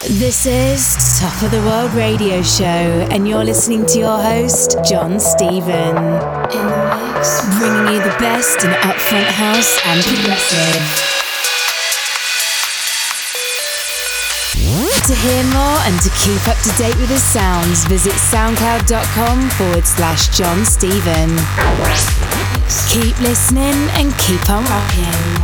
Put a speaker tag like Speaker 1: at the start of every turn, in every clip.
Speaker 1: This is Top of the World Radio Show, and you're listening to your host, John Stephen. In the mix, bringing you the best in upfront house and progressive. To hear more and to keep up to date with his sounds, visit soundcloud.com/John Stephen. Keep listening and keep on rocking.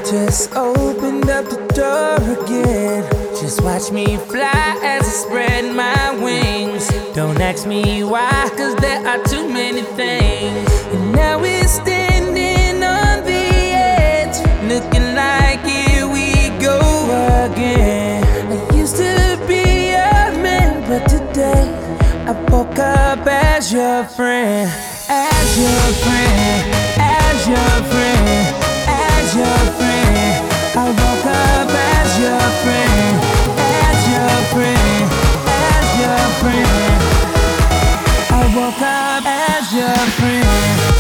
Speaker 2: just opened up the door again. Just watch me fly as I spread my wings. Don't ask me why, cause there are too many things. And now we're standing on the edge, looking like here we go again. I used to be a man, but today I woke up as your friend. As your friend, as your friend, as your friend. I woke up as your friend, as your friend, as your friend. I woke up as your friend.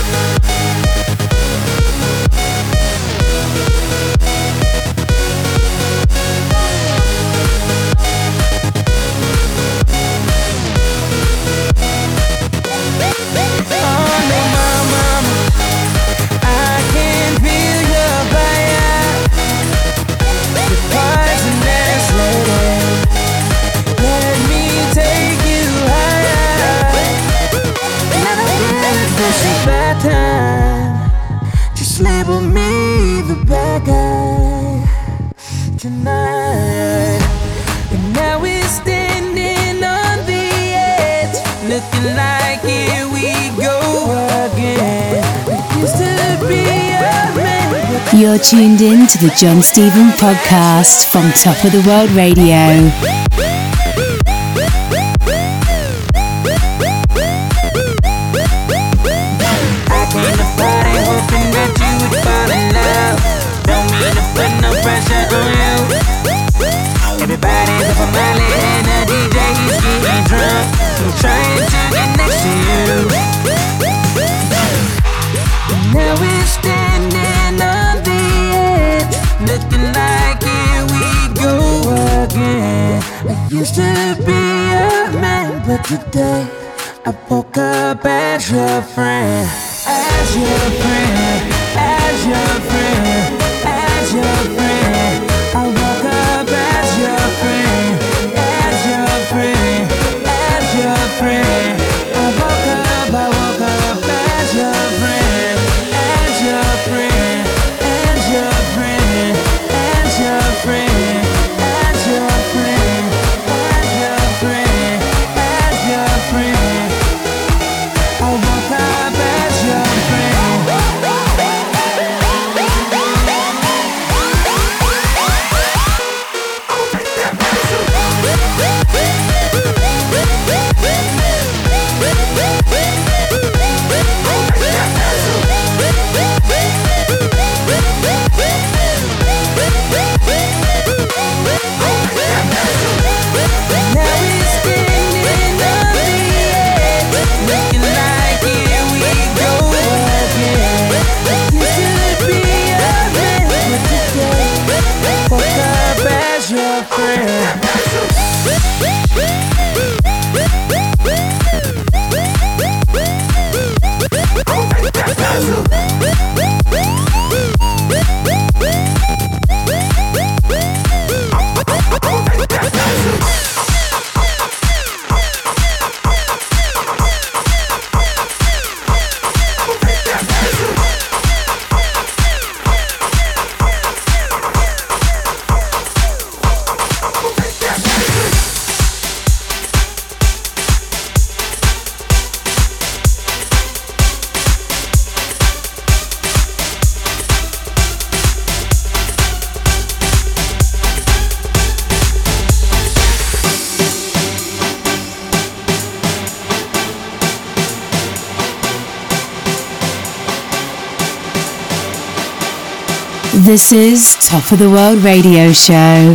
Speaker 2: Just label me the bad guy tonight. And now we're standing on the edge, looking like here we go again. I used to be a man.
Speaker 1: You're tuned in to the John Stephen podcast from Top of the World Radio.
Speaker 2: Everybody's up on my lid and the DJ is getting drunk. I'm trying to get next to you. Now we're standing on the edge, looking like here we go again. I used to be a man, but today I woke up as your friend. As your friend, as your friend, as your friend. I woke up as your friend, as your friend, as your friend. I woke up as your friend, as your friend, as your friend, as your friend, as your friend, as your friend, as your friend. I woke up as your friend.
Speaker 1: This is Top of the World Radio Show.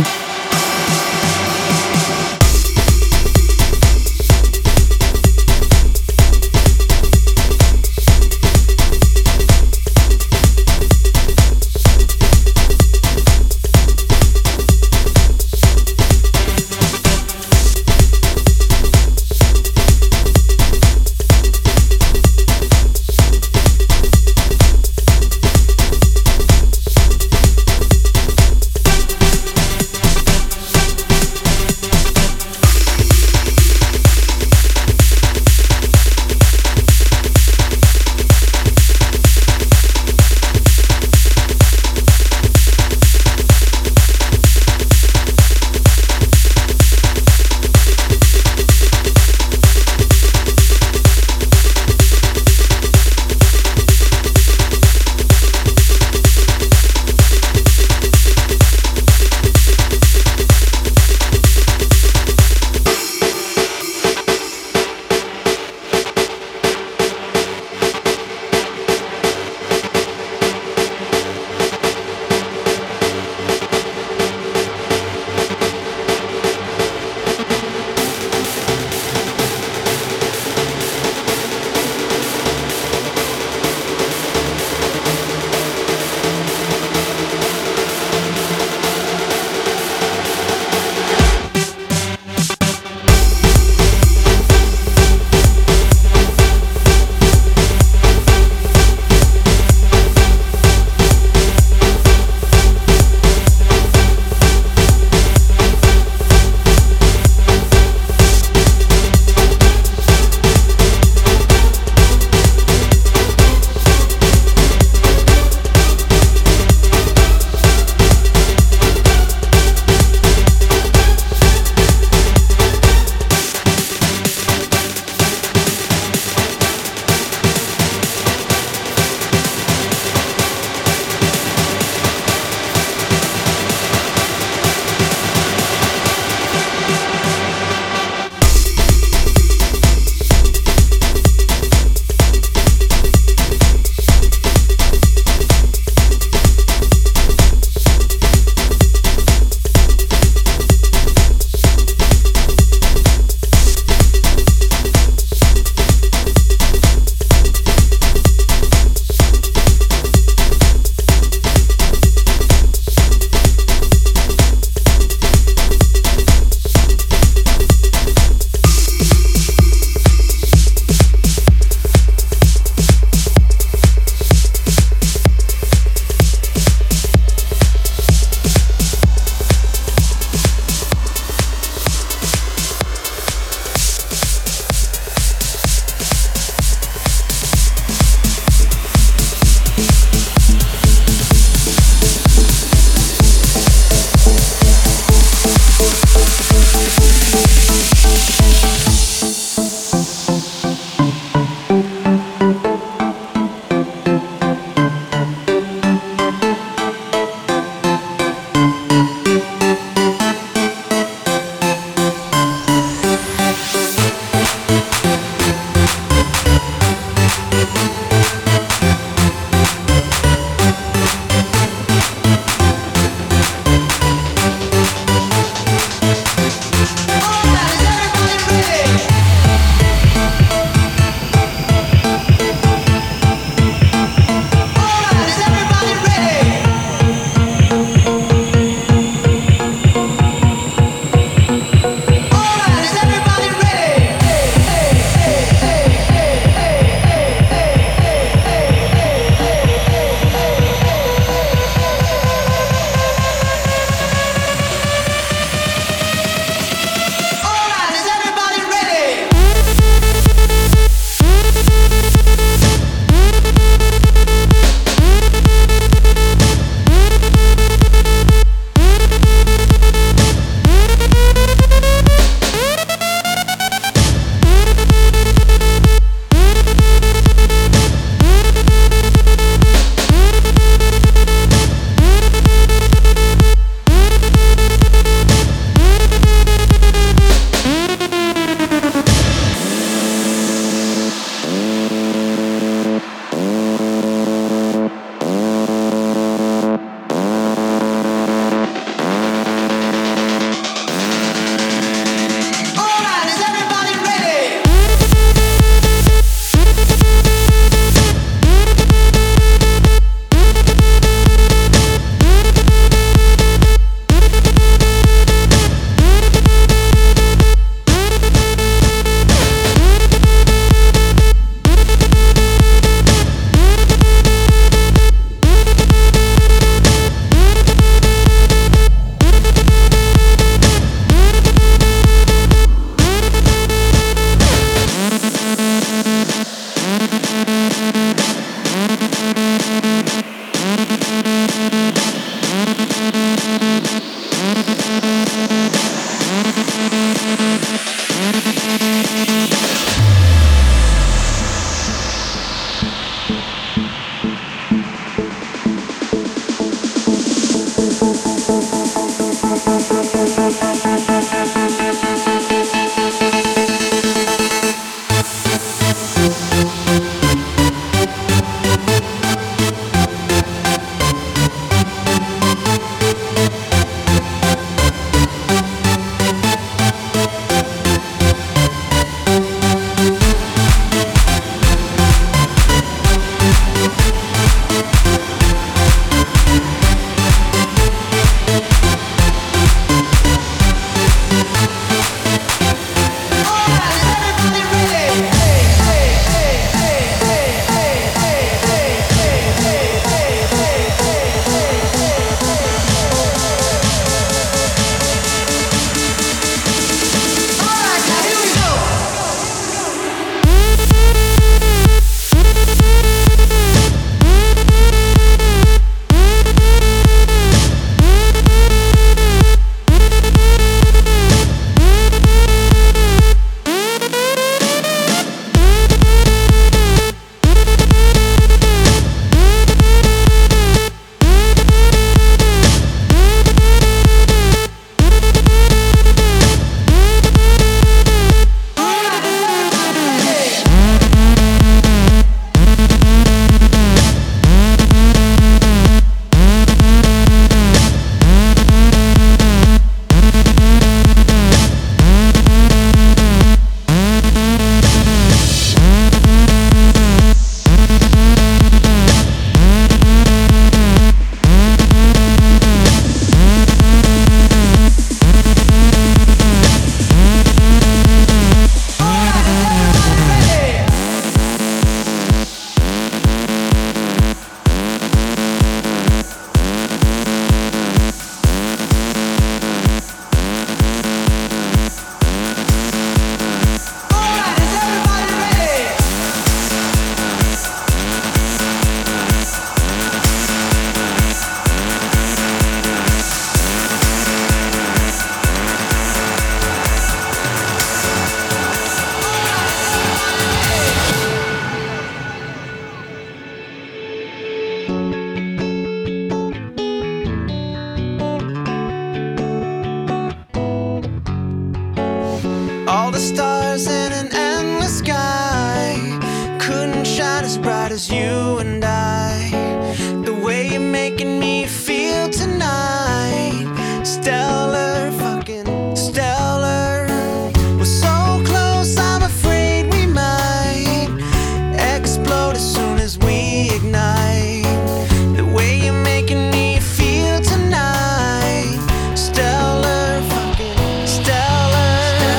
Speaker 2: as you and I. The way you're making me feel tonight, stellar, fucking stellar. We're so close, I'm afraid we might explode as soon as we ignite. The way you're making me feel tonight, stellar, fucking stellar.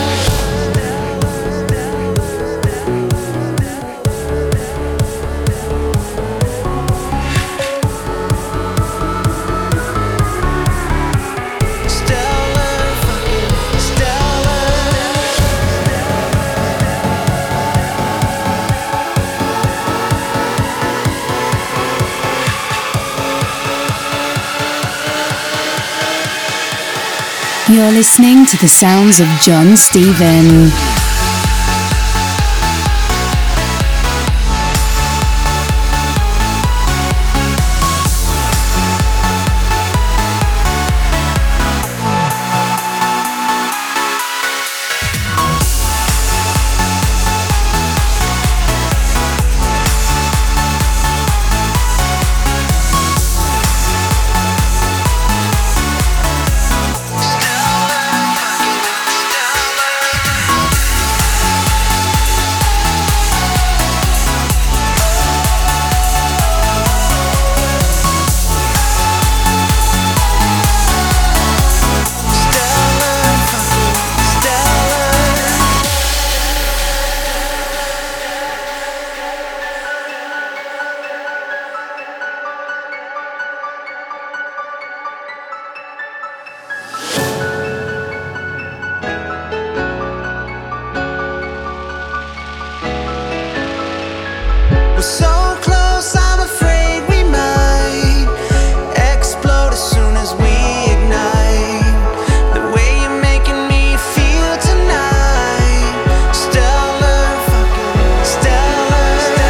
Speaker 1: You're listening to the sounds of John Stephen. We're so close, I'm afraid we might explode as soon as we ignite. The way you're making me feel tonight, stellar, fucking stellar.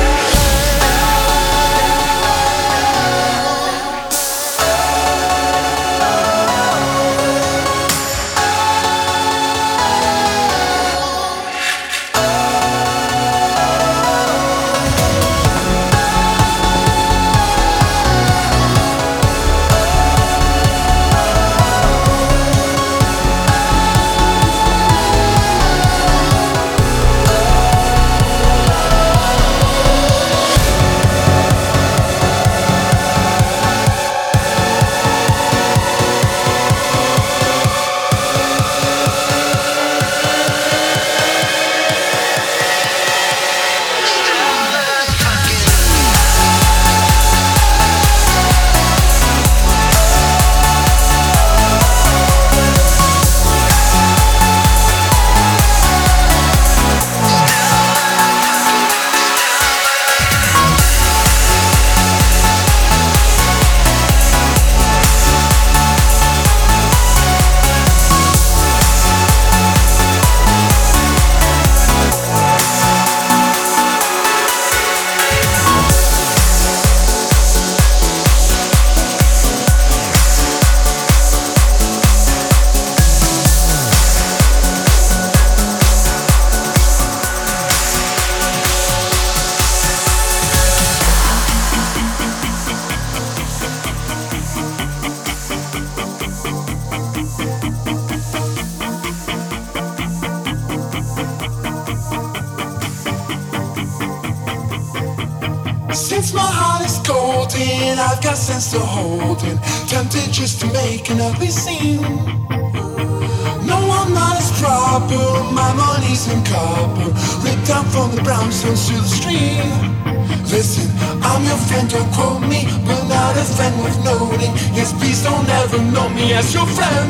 Speaker 3: Since my heart is golden, I've got sense to hold in. Tempted just to make an ugly scene. No, I'm not as proper, my money's in copper. Ripped down from the brownstones to the stream. Listen, I'm your friend, don't quote me, but not a friend worth noting. Yes, please don't ever know me as your friend.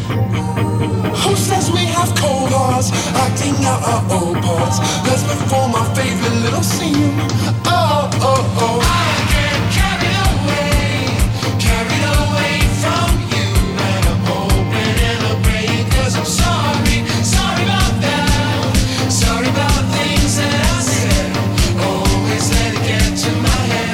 Speaker 3: Who says we have cold hearts, acting out our old parts? Let's perform our favorite little scene. Oh, oh, oh. I get carried away from you. And I'm hoping and I'm praying, 'cause I'm sorry about that. Sorry about things that I said. Always let it get to my head.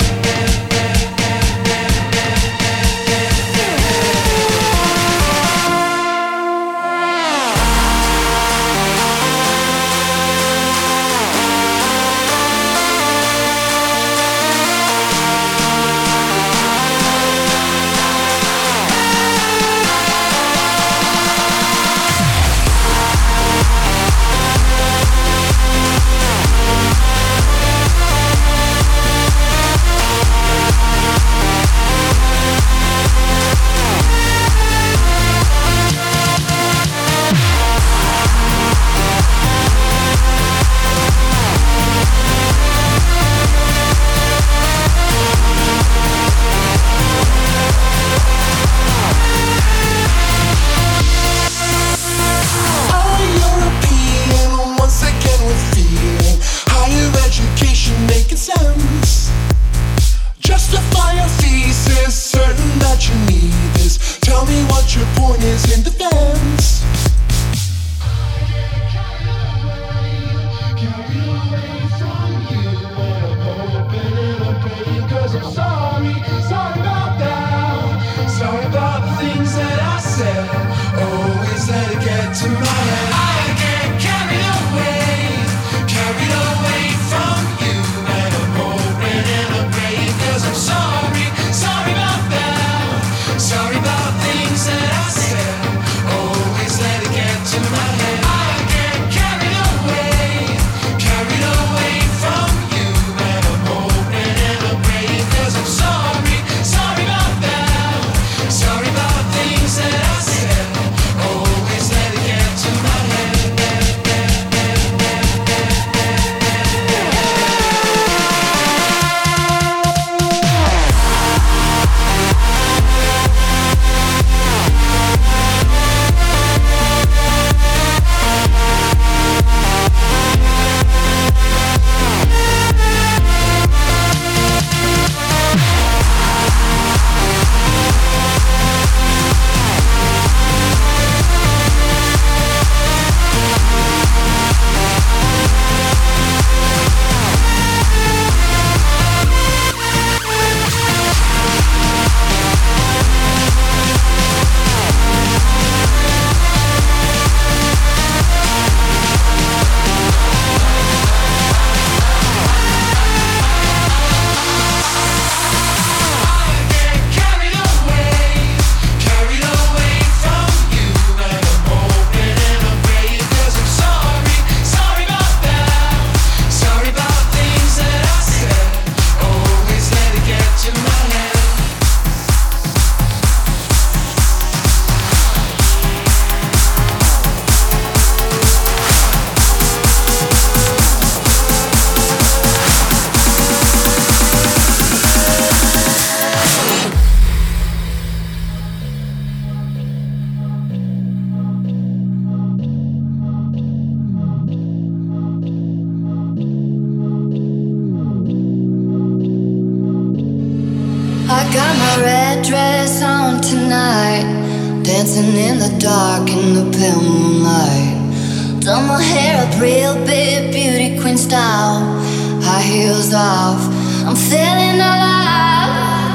Speaker 4: got my red dress on tonight, dancing in the dark in the pale moonlight. Done my hair up real big, beauty queen style, high heels off, I'm feeling alive.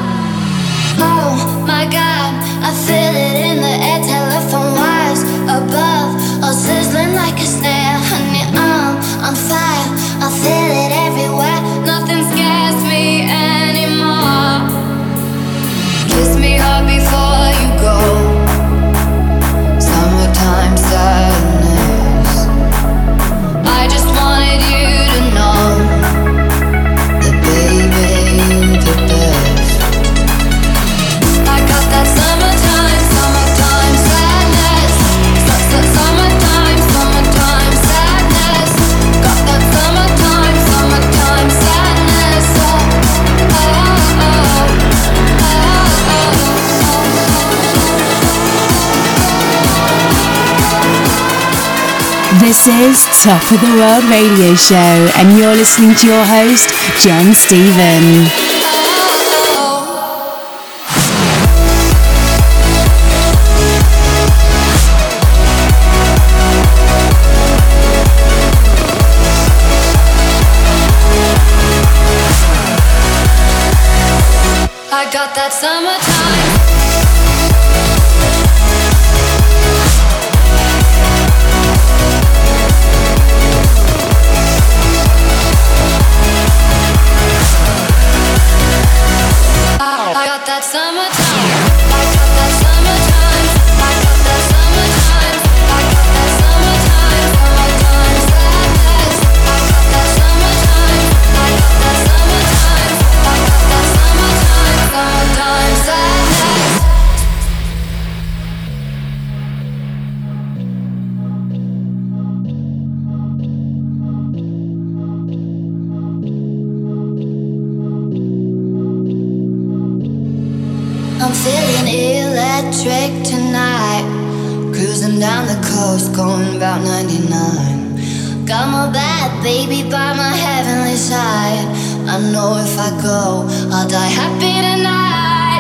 Speaker 4: Oh my God, I feel it in the air, telephone wires above, all sizzling like a snare. Honey, I'm on fire, I feel it everywhere, nothing scares me anymore. Kiss me hard before you go, summertime sadness. I just wanted you to know that baby, you're the best. I got that summertime, summertime sadness. Summertime, summertime sadness. Got that summertime, summertime sadness. Oh, oh, oh,
Speaker 1: This is Top of the World Radio Show, and you're listening to your host, John Stephen.
Speaker 4: I got that summertime. I got that summertime. I got that summertime. I got that summertime. I got that summertime. Summertime sadness. I got that summertime. I got that summertime. I got that summertime. Summertime sadness. I'm feeling electric tonight, cruising down the coast, going about 99. Got my bad baby by my heavenly side. I know if I go, I'll die happy tonight.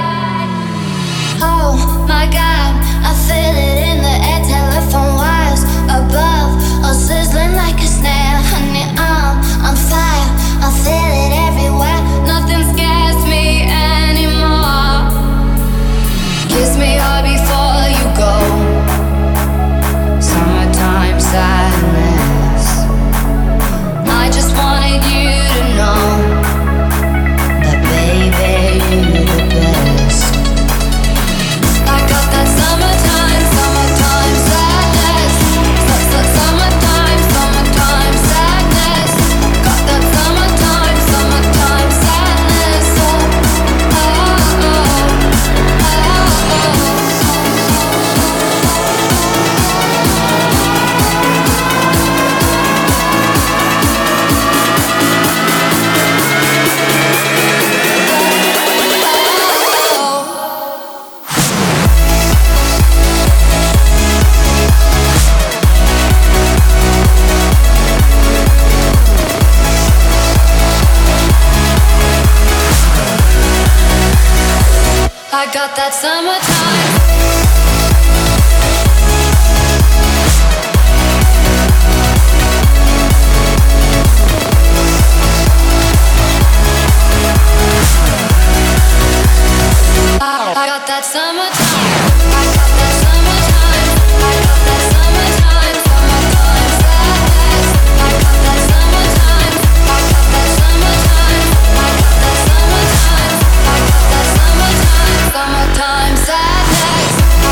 Speaker 4: Oh my God, I feel it in the air, telephone wires above, all sizzling like a snare. Honey, I'm on fire, I feel it everywhere, nothing scares me anymore. Kiss me hard before you go, summertime sadness. I just wanted you to know that baby, you're the best. I got that summertime, summertime sadness. Summertime, summertime sadness. Got that summertime, summertime sadness. Oh, oh, oh. I got that summertime. I got that summertime. I got that summertime. I got that summertime. Summertime sadness. I got that summertime. I got that summertime. I got that summertime. I got that summertime. Summertime sadness.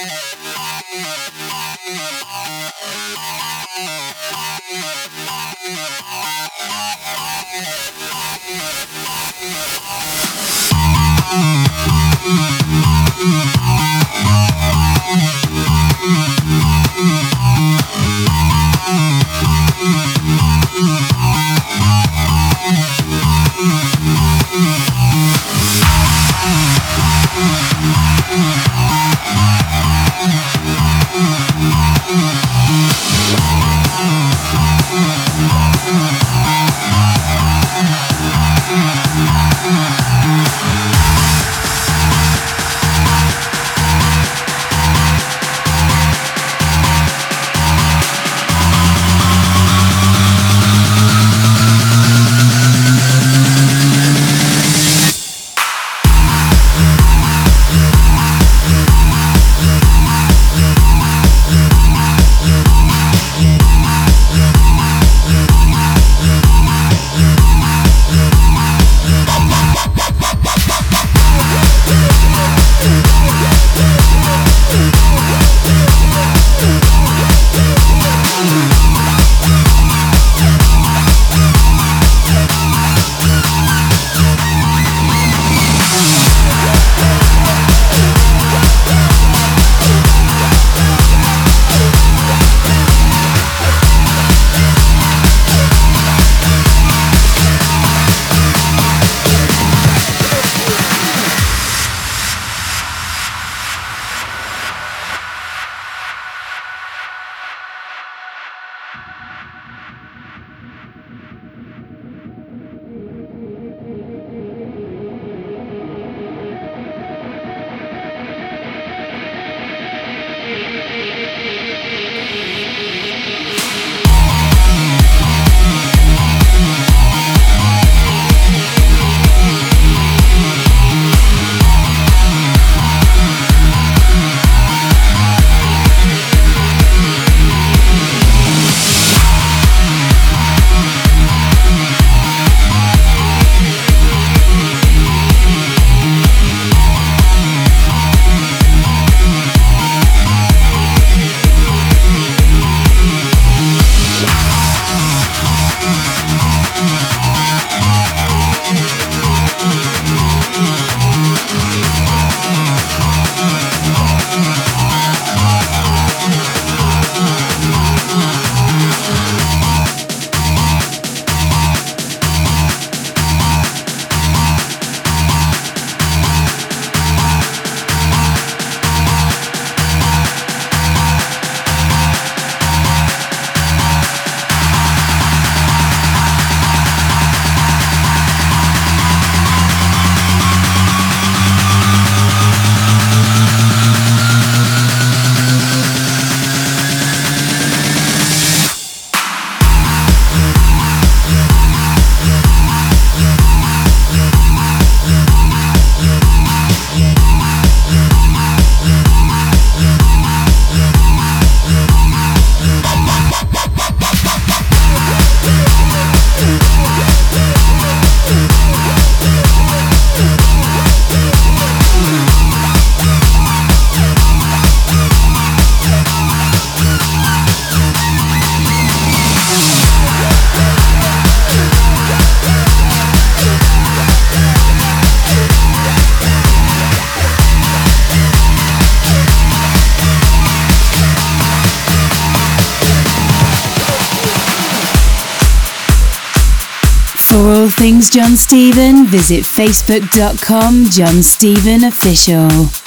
Speaker 1: For all things John Stephen, visit facebook.com John Stephen Official.